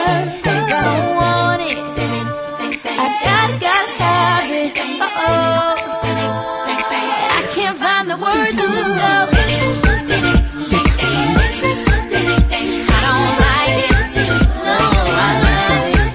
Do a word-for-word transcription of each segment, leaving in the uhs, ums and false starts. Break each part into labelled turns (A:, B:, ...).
A: hurt, 'cause I don't want it. I gotta, gotta have it. Uh-oh. I can't find the words to just go. I don't like it. No, I love it.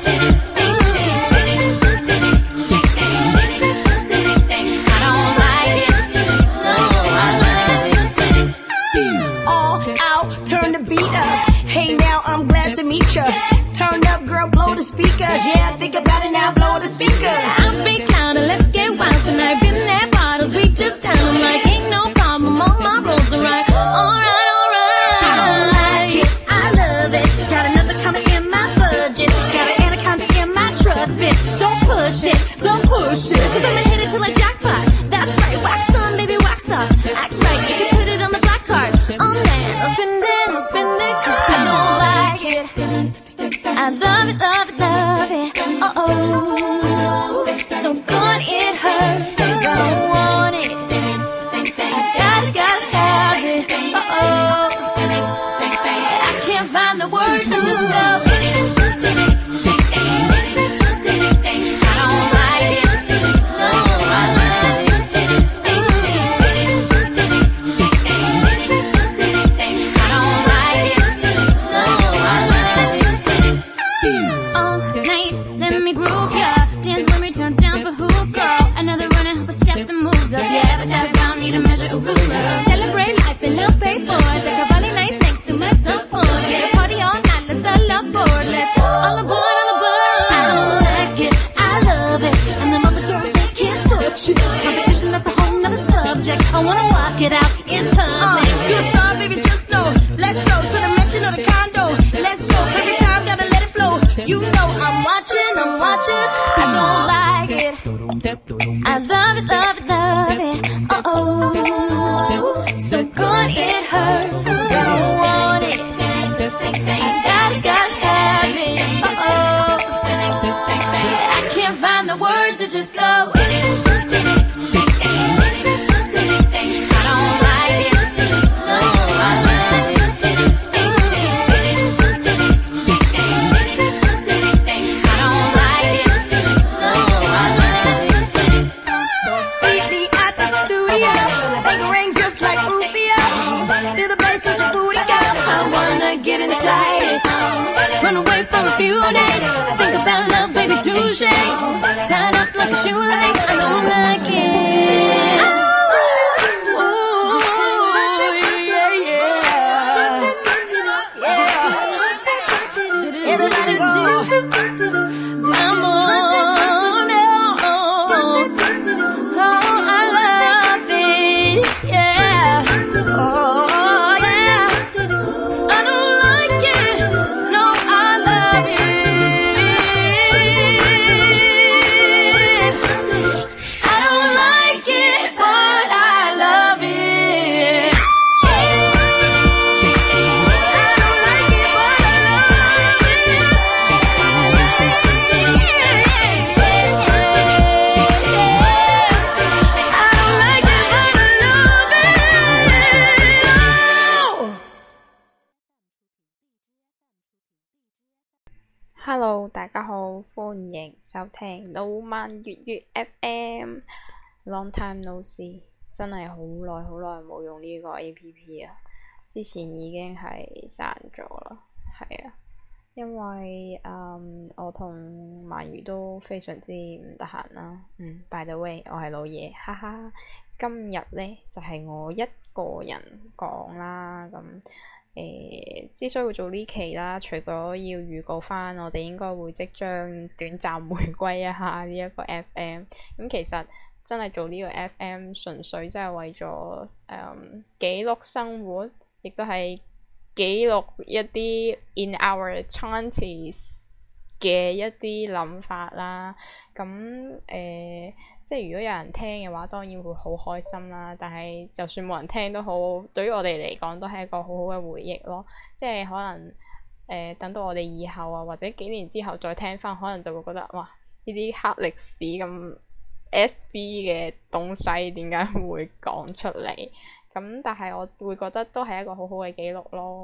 A: I don't like it. No, I love it.
B: All out, turn the beat up. Hey now, I'm glad to meet ya. Turn up, girl, blow the speakers. Yeah, think about it now, blow the speakers.
A: I'll speak louder, let's get wild tonight. Been there bottles, we just down. I'm like, ain't no problem, all my rules are right. Alright, alright.
B: I don't like it, I love it. Got another coming in my budget. Got an anaconda in my trust fit. Don't push it, don't push it.
A: Cause I'ma hit it till I jackpot. That's right, wax on, baby, wax off. Act right, you can put it on the black card. On that, I'll spend it, I'll spend it. Cause I don't like it. I love it, love it, love it. Uh-oh. So good it hurts, 'cause I don't want it. I gotta, gotta have it. Uh-oh. I can't find the words to just go. I don't like it. No, I love it. I don't like it. No, I love it. All night, let me groove ya. Dance when we turn down for who, girl? Another runner, help us step the moves up. Yeah, but that round need a measure of ruler. Celebrate life and I'll pay for it. The Cavalli nice next to my top one. Get a party all night, let's all aboard. Let's all aboard, all aboard.
B: I don't like it, I love it. And them other girls, they can't touch it. Competition, that's a whole nother subject. I wanna walk it out in public. Uh, you a star, baby, just know. Let's go to the mansion or the condo. Let's go, every time, gotta let it flow. You know I'm watching, I'm watching.
A: I don't like it. I love it, love it, love it. Uh-oh. So good it hurts, 'cause I don't want it. I gotta, gotta have it. Uh-oh. I can't find the words to just go. I don't like it. No, I love it. I don't like it. No, I love it.
B: Meet me at the studio. Make it ring just like Rufio. Feel the bass, let your booty go.
A: I wanna get inside, run away from a few days. Think about love, baby, touche. Tied up like a shoelace, I don't like it. I'm on else. Oh, I love it, yeah. Oh, yeah. I don't like it. No, I love it. I don't like it, but I love it.
C: Hello， 大家好，歡迎收聽老萬粵語 F M。Long time no see， 真係好耐好耐冇用呢個 A P P 啦。之前已經係刪咗啦，係啊，因為嗯我同鰻魚都非常之唔得閒啦。嗯，by the way， 我係老爺，哈哈。今日咧就係、是、我一個人講啦，咁。誒、呃，之所以會做呢期啦，除咗要預告翻，我哋應該會即將短暫回歸一下呢一個 F M。咁其實真係做呢個 F M， 純粹真係為咗誒、嗯、記錄生活，亦都係記錄一啲 in our twenties 嘅一啲諗法啦。咁誒、呃，即係如果有人聽嘅話，當然會好開心啦。但係就算冇人聽都好，對於我哋嚟講都係一個好好嘅回憶咯。即係可能誒、呃，等到我哋以後啊，或者幾年之後再聽翻，可能就會覺得哇，呢啲黑歷史咁 S B 嘅東西點解會講出嚟？咁但係我會覺得都係一個好好嘅記錄咯。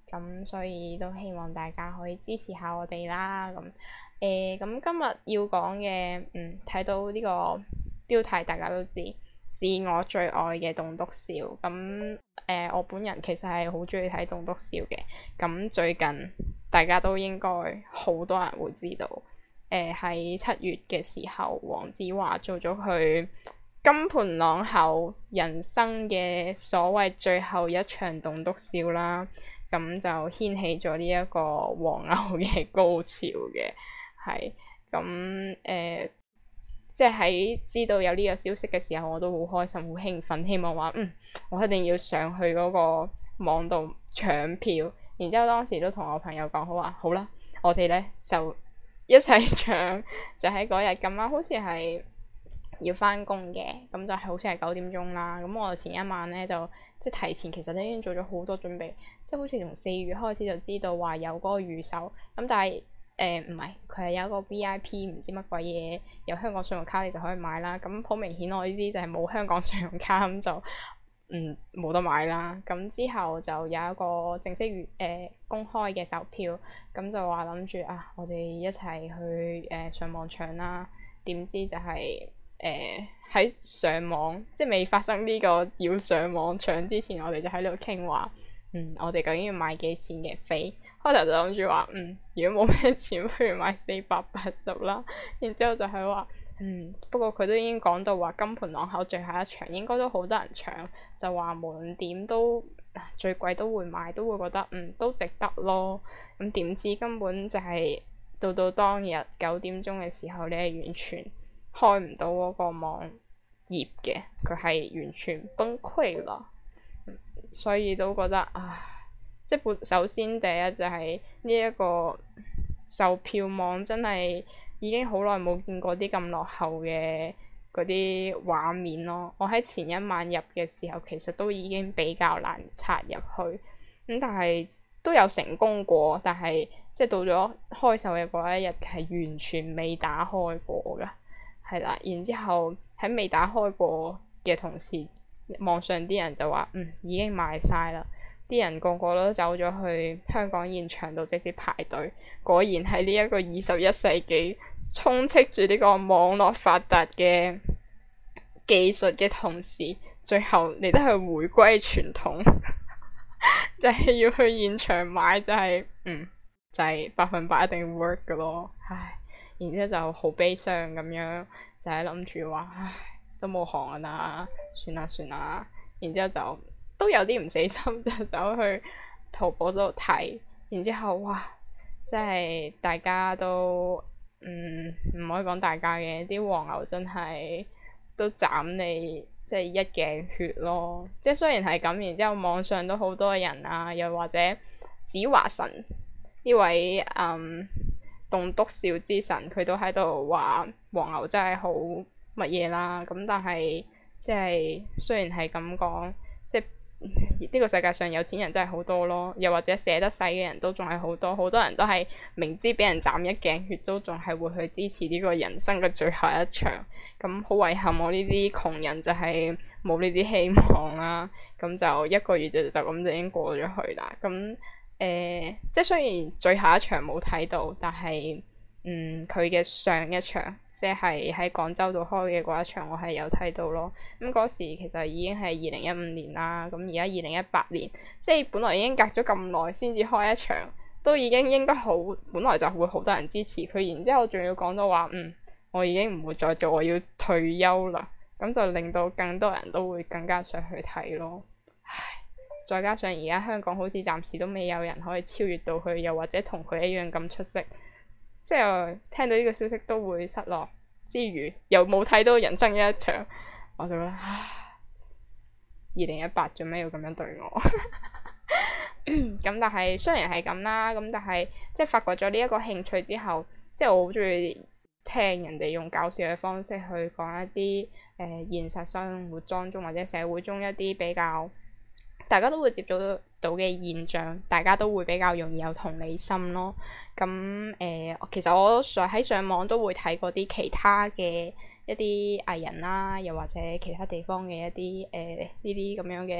C: 咁所以都希望大家可以支持下我哋啦。咁誒咁今日要講嘅，嗯，睇到呢個標題大家都知，是我最愛嘅棟篤笑。咁誒、呃、我本人其實係好中意睇棟篤笑嘅。咁最近大家都應該好多人會知道，誒喺七月嘅時候，黃子華做咗佢金盆朗口人生嘅所謂最後一場棟篤笑啦。咁就掀起咗呢一個黃牛嘅高潮嘅，係咁誒，即係喺知道有呢個消息嘅時候，我都好開心、好興奮，希望話嗯，我一定要上去嗰個網度搶票。然之後當時都同我朋友講好話，好啦，我哋咧就一齊搶，就喺嗰日咁啱，好似係要翻工嘅，咁就係好似係九點鐘啦。咁我前一晚咧就即係提前，其實都已經做咗好多準備，即係好似從四月開始就知道話有嗰個預售。咁但係誒唔係，佢係有一個 V I P 唔知乜鬼嘢，有香港信用卡你就可以買啦。咁好明顯我呢啲就係冇香港信用卡，咁就嗯冇得買啦。咁之後就有一個正式預誒、呃、公開嘅售票，咁就話諗住啊，我哋一齊去誒、呃、上網搶啦。點知就係、是、〜誒喺、呃、上網，即係未發生呢個要上網搶之前，我哋就喺度傾話，嗯，我哋究竟要買幾錢嘅飛？開頭就諗住話，嗯，如果冇咩錢，不如買四百八十啦。然之後就係話，嗯，不過佢都已經講到話金盆朗口最後一場應該都好多人搶，就話無論點都最貴都會買，都會覺得嗯都值得咯。咁點知根本就係、是、到到當日九點鐘嘅時候，你係完全開唔到嗰個網頁嘅，佢係完全崩潰啦，所以都覺得啊，即係本首先第一就係呢一個售票網真係已經好耐冇見過啲咁落後嘅嗰啲畫面咯。我喺前一晚入嘅時候，其實都已經比較難插入去，咁但係都有成功過，但係即係到咗開售嘅嗰一日係完全未打開過㗎。係啦，然之後喺未打開過嘅同時，網上啲人就話嗯已經賣晒啦，啲人個個都走咗去香港現場度直接排隊。果然喺呢一個二十一世紀充斥住呢個網絡發達嘅技術嘅同時，最後你都係回歸傳統，就係要去現場買，就係、是、嗯就係、是、百分百一定 work 噶咯，唉。然之後就好悲傷咁樣，就係諗住話，唉，都冇行啦，算啦算啦。然之後就都有啲唔死心，就走去淘寶度睇。然之後哇，即係大家都嗯唔可以講大家嘅，啲黃牛真係都斬你，即係一鏡血咯。即係雖然係咁，然之後網上都好多人啊，又或者子華神呢位嗯。棟篤笑之神，佢都喺度話黃牛真係好乜嘢啦。咁但係即係雖然係咁講，即係呢個世界上有錢人真係好多咯，又或者捨得使嘅人都仲係好多，好多人都係明知俾人斬一鏡血，都仲係會去支持呢個人生嘅最後一場。咁好遺憾，我呢啲窮人就係冇呢啲希望啦。咁就一個月就就咁就已經過咗去啦。咁誒、呃，即係雖然最後一場冇睇到，但係嗯佢嘅上一場，即係喺廣州度開嘅嗰一場，我係有睇到咯。咁嗰時其實已經係二零一五年啦，咁而家二零一八年，即係本來已經隔咗咁耐先至開一場，都已經應該好，本來就會好多人支持佢。然之後仲要講到話，嗯，我已經唔會再做，我要退休啦。咁就令到更多人都會更加想去睇咯。唉。再加上而家香港好似暫時都未有人可以超越到佢，又或者同佢一樣咁出色，即係聽到呢個消息都會失落之餘，又冇睇到人生嘅一場，我就覺得唉，二零一八做咩要咁樣對我？咁但係雖然係咁啦，咁但係即係發掘咗呢一個興趣之後，即係我好中意聽人哋用搞笑嘅方式去講一啲誒、呃、現實生活當中或者社會中一啲比較大家都會接觸到嘅現象，大家都會比較容易有同理心咯。咁誒、呃，其實我上喺上網都會睇過啲其他嘅一啲藝人啦，又或者其他地方嘅一啲誒呢啲咁樣嘅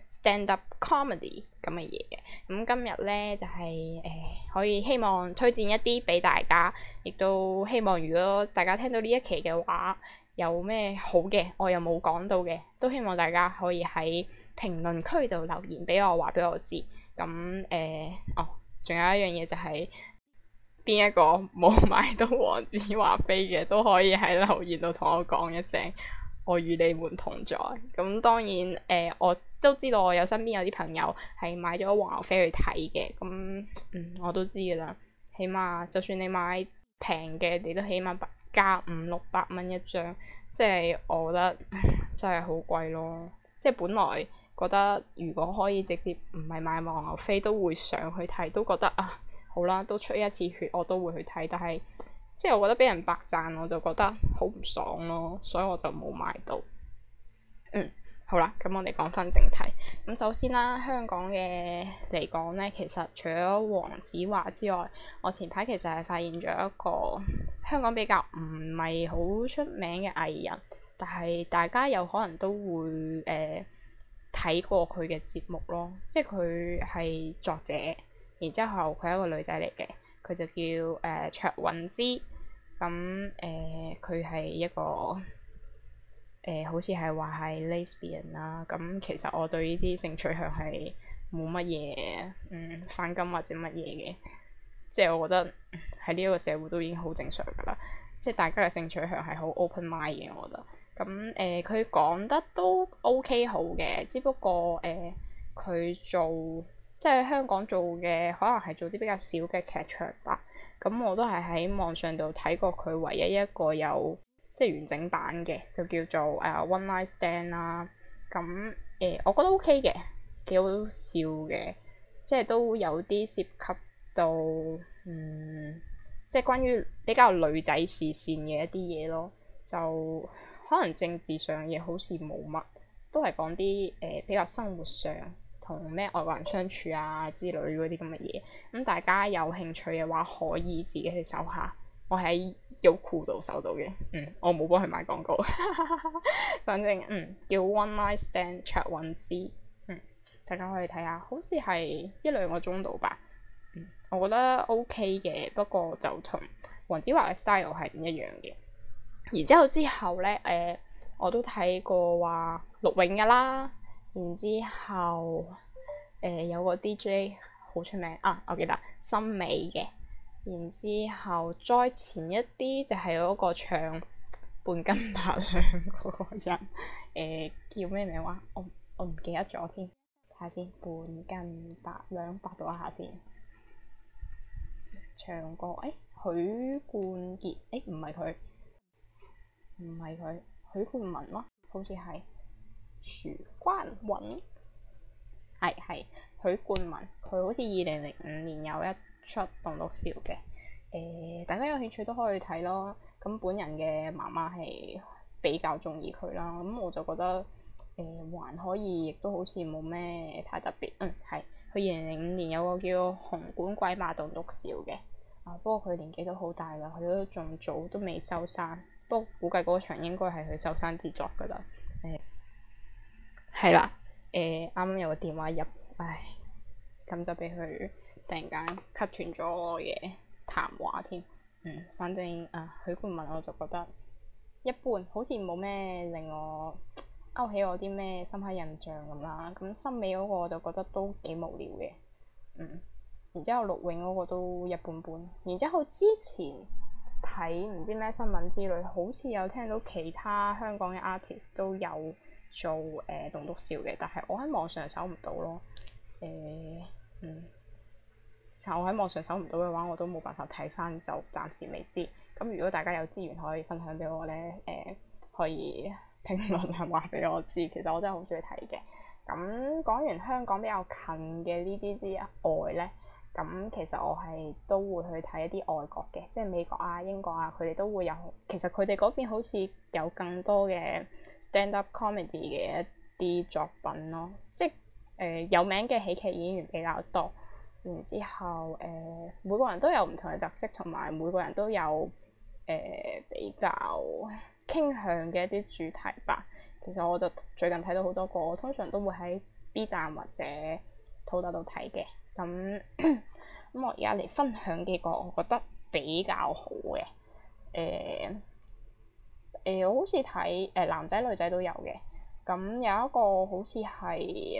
C: stand up comedy 咁嘅嘢嘅。咁今日咧就係、是、誒、呃、可以希望推薦一啲俾大家，亦都希望如果大家聽到呢一期嘅話，有咩好嘅我又冇講到嘅，都希望大家可以喺評論區度留言俾我，話俾我知。咁誒、呃、哦，仲有一樣嘢就係、是、邊一個冇買到黃子華飛嘅，都可以喺留言度同我講一聲，我與你們同在。咁當然誒、呃，我都知道我有身邊有啲朋友係買咗黃牛飛去睇嘅，咁嗯我都知噶啦。起碼就算你買平嘅，你都起碼加五六百蚊一張，即係我覺得真係好貴咯。即係本來覺得如果可以直接唔係買黃牛飛都會上去睇，都覺得啊好啦，都出一次血我都會去睇，但係即係我覺得俾人白讚我就覺得好唔爽咯，所以我就冇買到。嗯，好啦，咁我哋講翻正題。咁首先啦，香港嘅嚟講咧，其實除咗黃子華之外，我前排其實係發現咗一個香港比較唔係好出名嘅藝人，但係大家有可能都會誒睇、呃、過佢嘅節目咯。即係佢係作者，然之後佢係一個女仔嚟嘅，佢就叫誒、呃、卓韻芝。咁誒佢係一個。誒、呃、好似係話係 lesbian 啦，咁其實我對呢啲性取向係冇乜嘢嗯反感或者乜嘢嘅，即係我覺得喺呢一個社會都已經好正常噶啦，即係大家嘅性取向係好 open mind 嘅，我覺得。咁誒佢講得都 OK 好嘅，只不過誒佢、呃、做即係香港做嘅可能係做啲比較少嘅劇場吧。咁我都係喺網上度睇過佢唯一一個有即係完整版嘅，就叫做誒、uh, One Night Stand 啦。咁誒、呃，我覺得 OK 嘅，幾好笑嘅，即係都有啲涉及到嗯，即係關於比較女仔視線嘅一啲嘢咯。就可能政治上嘢好似冇乜，都係講啲誒比較生活上同咩外國人相處啊之類嗰啲咁嘅嘢。咁大家有興趣嘅話，可以自己去搜下。我喺優酷度搜到嘅，嗯，我冇幫佢買廣告，反正嗯叫 One Night Stand 卓韻芝，嗯，大家可以睇下，好似係一兩個鐘度吧，嗯，我覺得 OK 嘅，不過就同黃子華嘅 style 係唔一樣嘅。然之後之後咧，誒、呃，我都睇過話陸永噶啦，然之後誒、呃、有個 D J 好出名啊，我記得森美嘅。然之後再前一啲就係嗰個唱半斤八兩嗰個人，誒、呃、叫咩名話？我我唔記得咗添，睇下先。半斤八兩，百度一下先。唱歌誒，許冠傑誒，唔係佢，唔係佢，許冠文咯，好似係許冠文，係係許冠文，佢好似二零零五年有一出棟篤笑嘅，誒、呃、大家有興趣都可以睇咯。咁本人嘅媽媽係比較中意佢啦，咁我就覺得誒、呃、還可以，亦都好似冇咩太特別。嗯，係佢二零零五年有個叫紅館鬼馬棟篤笑嘅，啊不過佢年紀都好大啦，佢都仲早都未收山，不過估計嗰場應該係佢收山之作噶啦。誒係啦，誒啱啱有個電話入，唉咁就俾佢突然間 cut 斷咗我嘅談話添，嗯，反正啊許冠文我就覺得一般，好似冇咩令我勾起我啲咩深刻印象咁啦。咁森美嗰個我就覺得都幾無聊嘅，嗯，然之後陸永嗰個都一般般。然之後之前睇唔知咩新聞之類，好似有聽到其他香港嘅 artist 都有做誒棟篤笑嘅，但係我喺網上搜唔到咯，誒、呃、嗯。但我喺網上搜唔到嘅話，我都冇辦法睇翻，就暫時未知。咁如果大家有資源可以分享俾我咧，誒、呃、可以評論下話俾我知。其實我真係好中意睇嘅。咁講完香港比較近嘅呢啲之外咧，咁其實我係都會去睇一啲外國嘅，即係美國啊、英國啊，佢哋都會有。其實佢哋嗰邊好似有更多嘅 stand-up comedy 嘅一啲作品咯，即係誒、呃、有名嘅喜劇演員比較多。然之後，誒、呃、每個人都有唔同嘅特色，同埋每個人都有誒、呃、比較傾向嘅一啲主題吧。其實我就最近睇到好多個，我通常都會喺 B 站或者土豆度睇嘅。咁咁我而家嚟分享幾個我覺得比較好嘅。誒、呃、誒、呃，我好似睇誒男仔女仔都有嘅。咁有一個好似係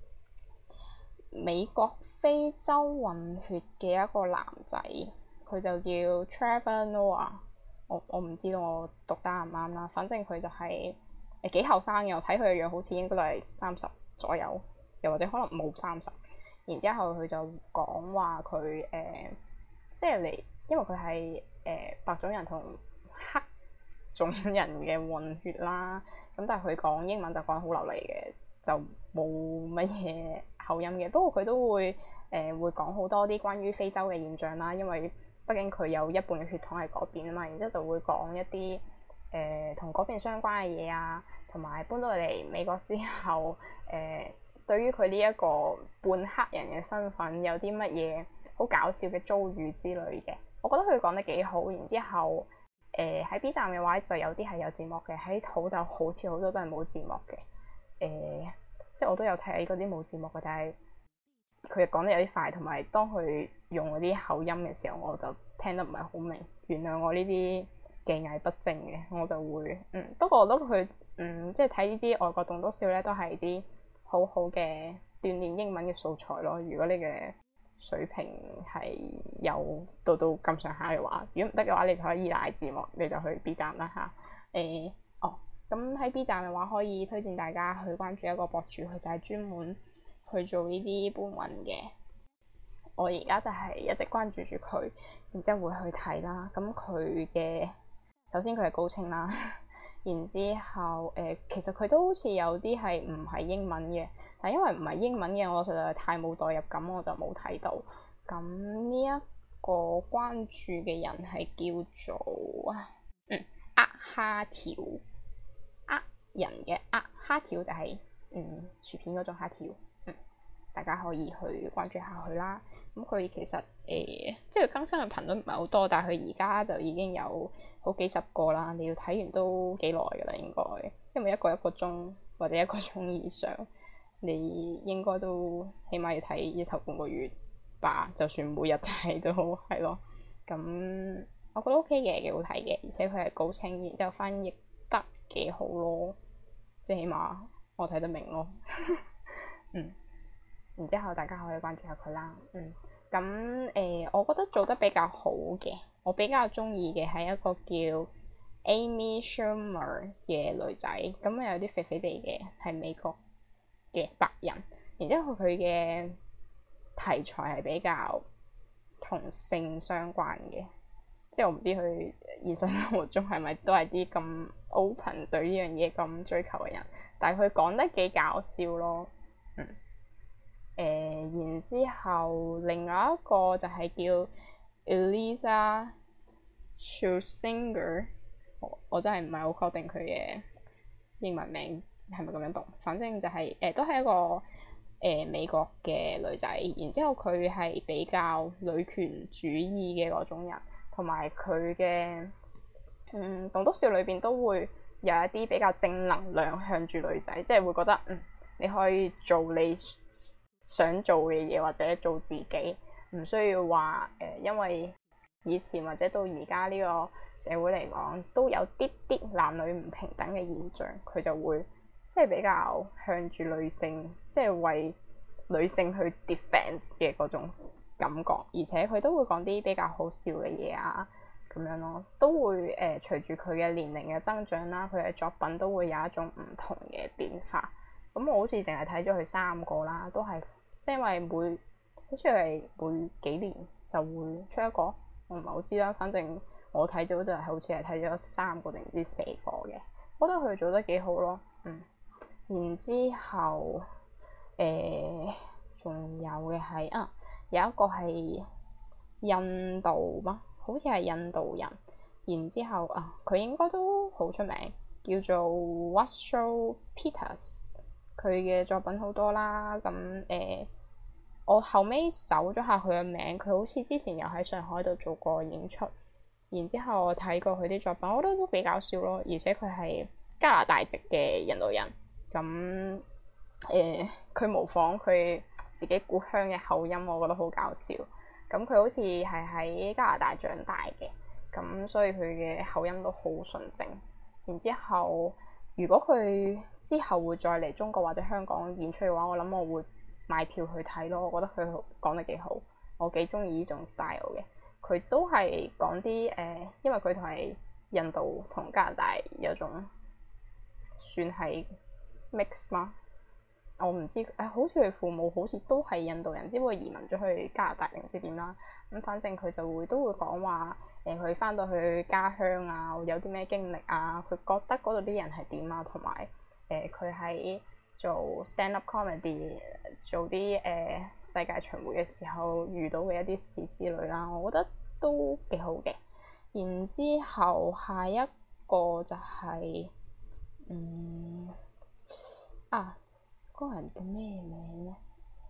C: 美國非洲混血嘅一個男仔，佢就叫 Trevor Noah。我我唔知道我讀得啱唔啱啦，反正佢就係誒幾後生嘅，我睇佢嘅樣好似應該都係三十左右，又或者可能冇三十。然之後佢就講話佢誒，即係嚟，因為佢係誒白種人同黑種人嘅混血啦。咁但係佢講英文就講得好流利嘅，就冇乜嘢口音嘅。不過佢都會誒、呃、會講好多啲關於非洲嘅現象啦，因為畢竟佢有一半嘅血統喺嗰邊啊嘛。然之後就會講一啲誒同嗰邊相關嘅嘢啊，同埋搬到嚟美國之後誒。呃對於佢呢一個半黑人嘅身份有啲乜嘢好搞笑嘅遭遇之類嘅，我覺得佢講得幾好。然之後誒喺、呃、B 站嘅話就有啲係有字幕嘅，喺土豆好似好多都係冇字幕嘅。誒、呃、即係我都有睇嗰啲冇字幕嘅，但係佢講得有啲快，同埋當佢用嗰啲口音嘅時候，我就聽得唔係好明。原諒我呢啲技藝不正嘅，我就會嗯不過我覺得佢嗯即係睇呢啲外國棟篤笑咧，都係啲好好嘅鍛鍊英文嘅素材咯。如果你嘅水平係有到到咁上下嘅話，如果唔得嘅話，你就可以依賴字幕，你就去 B 站啦嚇。誒、欸、哦，咁喺 B 站嘅話，可以推薦大家去關注一個博主，佢就係專門去做呢啲搬運嘅。我而家就係一直關注住佢，然之後會去睇啦。咁佢嘅首先佢係高清啦。然之後，誒、呃、其實佢都好似有啲係唔係英文嘅，但因為唔係英文嘅，我實在係太冇代入感，我就冇睇到。咁呢一個關注嘅人係叫做嗯呃蝦條，呃人嘅呃蝦條就係、是、嗯薯片嗰種蝦條，嗯大家可以去關注下佢啦。咁佢其實誒、呃、即係更新嘅頻率唔係好多，但係佢而家就已經有好幾十個啦。你要睇完都幾耐㗎啦，應該，因為一個一個鐘或者一個鐘以上，你應該都起碼要睇一頭半個月吧。就算每日睇都好，係咯。咁我覺得 OK 嘅，幾好睇嘅，而且佢係高清，然之後翻譯得幾好咯，即係起碼我睇得明咯。嗯。然之後大家可以關注下佢啦。嗯，咁誒、呃，我覺得做得比較好嘅，我比較中意嘅係一個叫 Amy Schumer 嘅女仔。咁有啲肥肥地嘅，係美國嘅白人。然之後佢嘅題材係比較同性相關嘅，即係我唔知佢現實生活中係咪都係啲咁 open 對呢樣嘢咁追求嘅人，但係佢講得幾搞笑咯。嗯。誒、呃，然之後另外一個就係叫 Iliza Shlesinger，我我真係唔係好確定佢嘅英文名係咪咁樣讀，反正就係、是、誒、呃、都係一個誒、呃、美國嘅女仔。然之後佢係比較女權主義嘅嗰種人，同埋佢嘅嗯棟篤笑裏邊都會有一啲比較正能量向住女仔，即係會覺得嗯你可以做你想做嘅嘢，或者做自己，唔需要話誒、呃，因為以前或者到而家呢個社會嚟講，都有啲啲男女唔平等嘅現象，佢就會即係比較向住女性，即係為女性去 defense 嘅嗰種感覺，而且佢都會講啲比較好笑嘅嘢啊，咁樣咯，都會誒、呃、隨住佢嘅年齡嘅增長啦，佢嘅作品都會有一種唔同嘅變化。咁我好似淨係睇咗佢三個啦，都係。即係因為每好似係每幾年就會出一個，我唔係好知啦。反正我睇咗就係好似係睇咗三個定唔知四個嘅，我覺得佢做得幾好咯。嗯，然之後誒仲、呃、有嘅係啊，有一個係印度嗎？好似係印度人。然之後啊，佢應該都好出名，叫做 Vatsal Peters。佢嘅作品好多啦，咁誒、呃，我後尾搜咗下佢嘅名，佢好似之前又喺上海度做過演出，然之後我睇過佢啲作品，我覺得都幾搞笑咯，而且佢係加拿大籍嘅印度人，咁誒佢、呃、模仿佢自己故鄉嘅口音，我覺得好搞笑。咁佢好似係喺加拿大長大嘅，咁所以佢嘅口音都好純正。然之後，如果佢之後會再嚟中國或者香港演出嘅話，我諗我會買票去睇咯。我覺得佢講得幾好，我幾中意呢種 style 嘅。佢都係講啲誒，因為佢同係印度同加拿大有種算係 mix 嗎？我唔知誒、哎，好似佢父母好似都係印度人，只不過移民咗去加拿大定唔知點啦。咁反正佢就會都會講話誒，佢、呃、翻到去家鄉啊，有啲咩經歷啊，佢覺得嗰度啲人係點啊，同埋誒佢喺做 stand up comedy 做啲誒、呃、世界巡迴嘅時候遇到嘅一啲事之類啦，我覺得都幾好嘅。然之後下一個就係、是、嗯啊〜嗰個人叫咩名咧？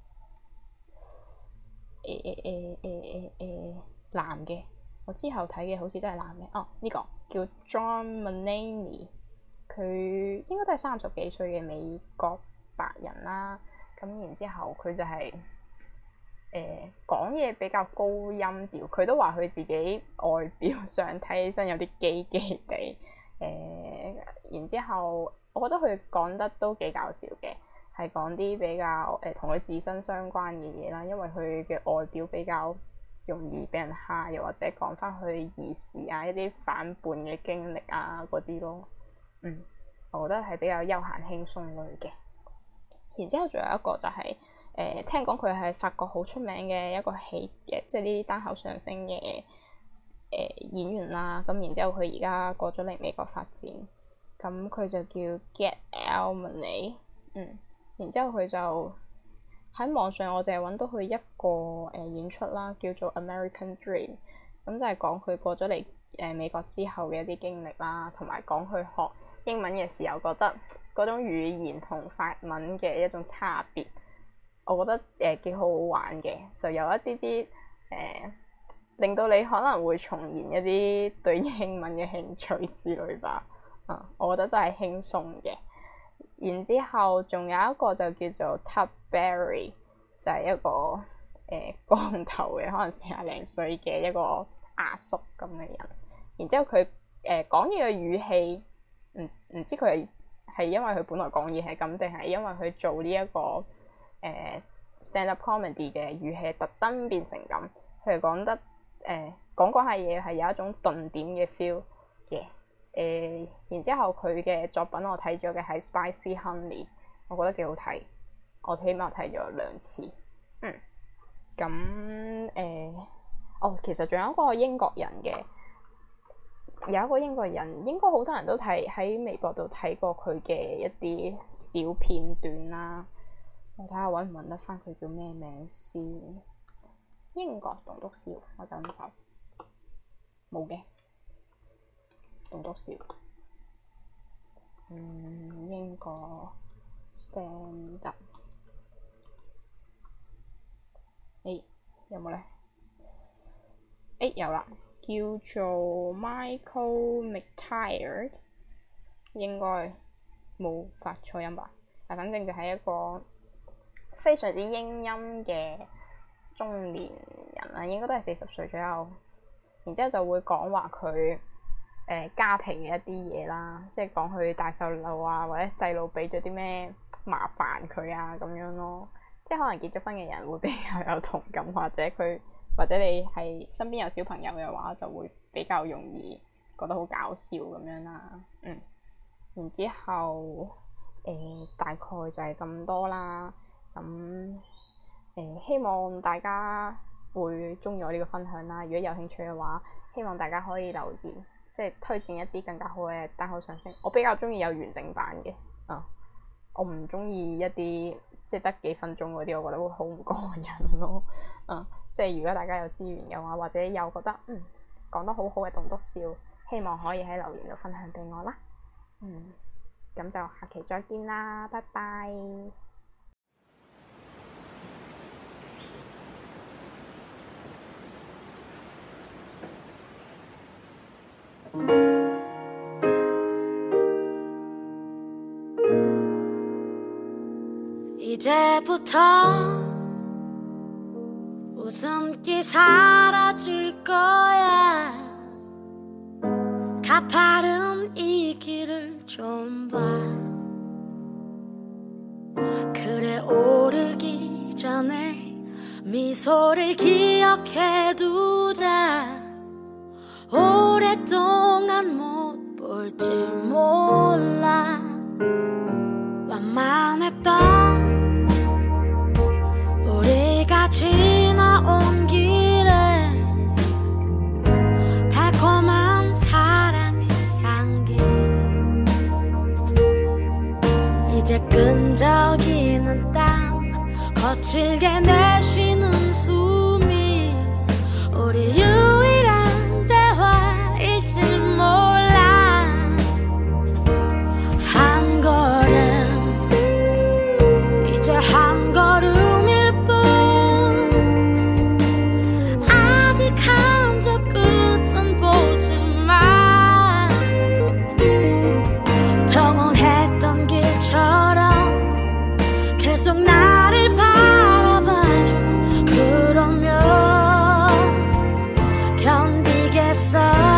C: 誒誒誒誒誒誒男嘅，我之後睇嘅好似都係男嘅。哦，呢、這個叫 John Mulaney， 佢應該都係三十幾歲嘅美國白人啦。咁然之後佢就係誒講嘢比較高音調，佢都話佢自己外表上睇起身有啲基基地。誒、呃，然之後我覺得佢講得都幾搞笑嘅。係講啲比較誒同佢自身相關嘅嘢啦，因為佢嘅外表比較容易俾人蝦，又或者講翻佢兒時啊一啲反叛嘅經歷啊嗰啲咯。嗯，我覺得係比較休閒輕鬆類嘅。然之後仲有一個就係、是、誒、呃、聽講佢係法國好出名嘅一個戲嘅，即係呢啲單口相聲嘅誒、呃、演員啦。咁然之後佢而家過咗嚟美國發展，咁佢就叫 Gad Elmaleh。嗯。然之後佢就喺網上，我淨係揾到佢一個誒、呃、演出啦，叫做 American Dream。咁就係講佢過咗嚟誒美國之後嘅一啲經歷啦，同埋講佢學英文嘅時候覺得嗰種語言同法文嘅一種差別，我覺得誒幾、呃、好好玩嘅，就有一啲啲誒令到你可能會重燃一啲對英文嘅興趣之類吧。啊、嗯，我覺得都係輕鬆嘅。然之後仲有一個就叫做 Tub Berry， 就係一個誒、呃、光頭嘅，可能四廿零歲嘅一個阿叔咁嘅人。然之後佢誒講嘢嘅語氣，唔唔知佢係係因為佢本來講嘢係咁，定係因為佢做呢、這、一個誒、呃、stand up comedy 嘅語氣特登變成咁。佢係講得誒講講下嘢係有一種頓點嘅 feel 嘅。誒、呃，然之後佢嘅作品我睇咗嘅係 Spicy Honey， 我覺得幾好睇，我起碼睇咗兩次。嗯，咁誒、呃，哦，其實仲有一個英國人嘅，有一個英國人，應該好多人都睇喺微博度睇過佢嘅一啲小片段啦。我睇下揾唔揾得翻佢叫咩名先。英國棟篤笑，我就咁搜，冇嘅。棟篤笑，嗯，英國 stand up，誒有冇咧？誒有啦，叫做 Michael McTired， 應該冇發錯音吧？但反正就係一個非常之英音嘅中年人啦，應該都係四十歲左右。然之後就會講話佢。誒、呃、家庭嘅一啲嘢啦，即係講佢帶細路啊，或者細路俾咗啲咩麻煩佢啊咁樣咯。即係可能結咗婚嘅人會比較有同感，或者佢或者你係身邊有小朋友嘅話，就會比較容易覺得好搞笑咁樣啦。嗯，然之後誒、呃、大概就係咁多啦。咁誒、呃、希望大家會鍾意我呢個分享啦。如果有興趣嘅話，希望大家可以留言。即係推薦一啲更加好嘅單口相聲，我比較中意有完整版嘅，啊、嗯，我唔中意一啲即係得幾分鐘嗰啲，我覺得會好唔過癮咯，嗯，即係如果大家有資源嘅話，或者有覺得嗯講得好好嘅棟篤笑，希望可以喺留言度分享俾我啦，嗯，咁就下期再見啦，拜拜。
D: 이제부터 웃음기 사라질 거야. 가파른 이 길을 좀 봐. 그래 오르기 전에 미소를 기억해두자. 오랫동안 못 볼지 몰라. 완만했던 우리가 지나온 길에 달콤한 사랑의 향기. 이제 끈적이는 땀 거칠게 내쉬는 숨이 우리 유일한 대화일지 몰라. 한 걸음 이제 한 걸음일 뿐. 아직 한 적 끝은 보지만 평온했던 길처럼 계속 나를 바라봐줘. 그러면 견디겠어.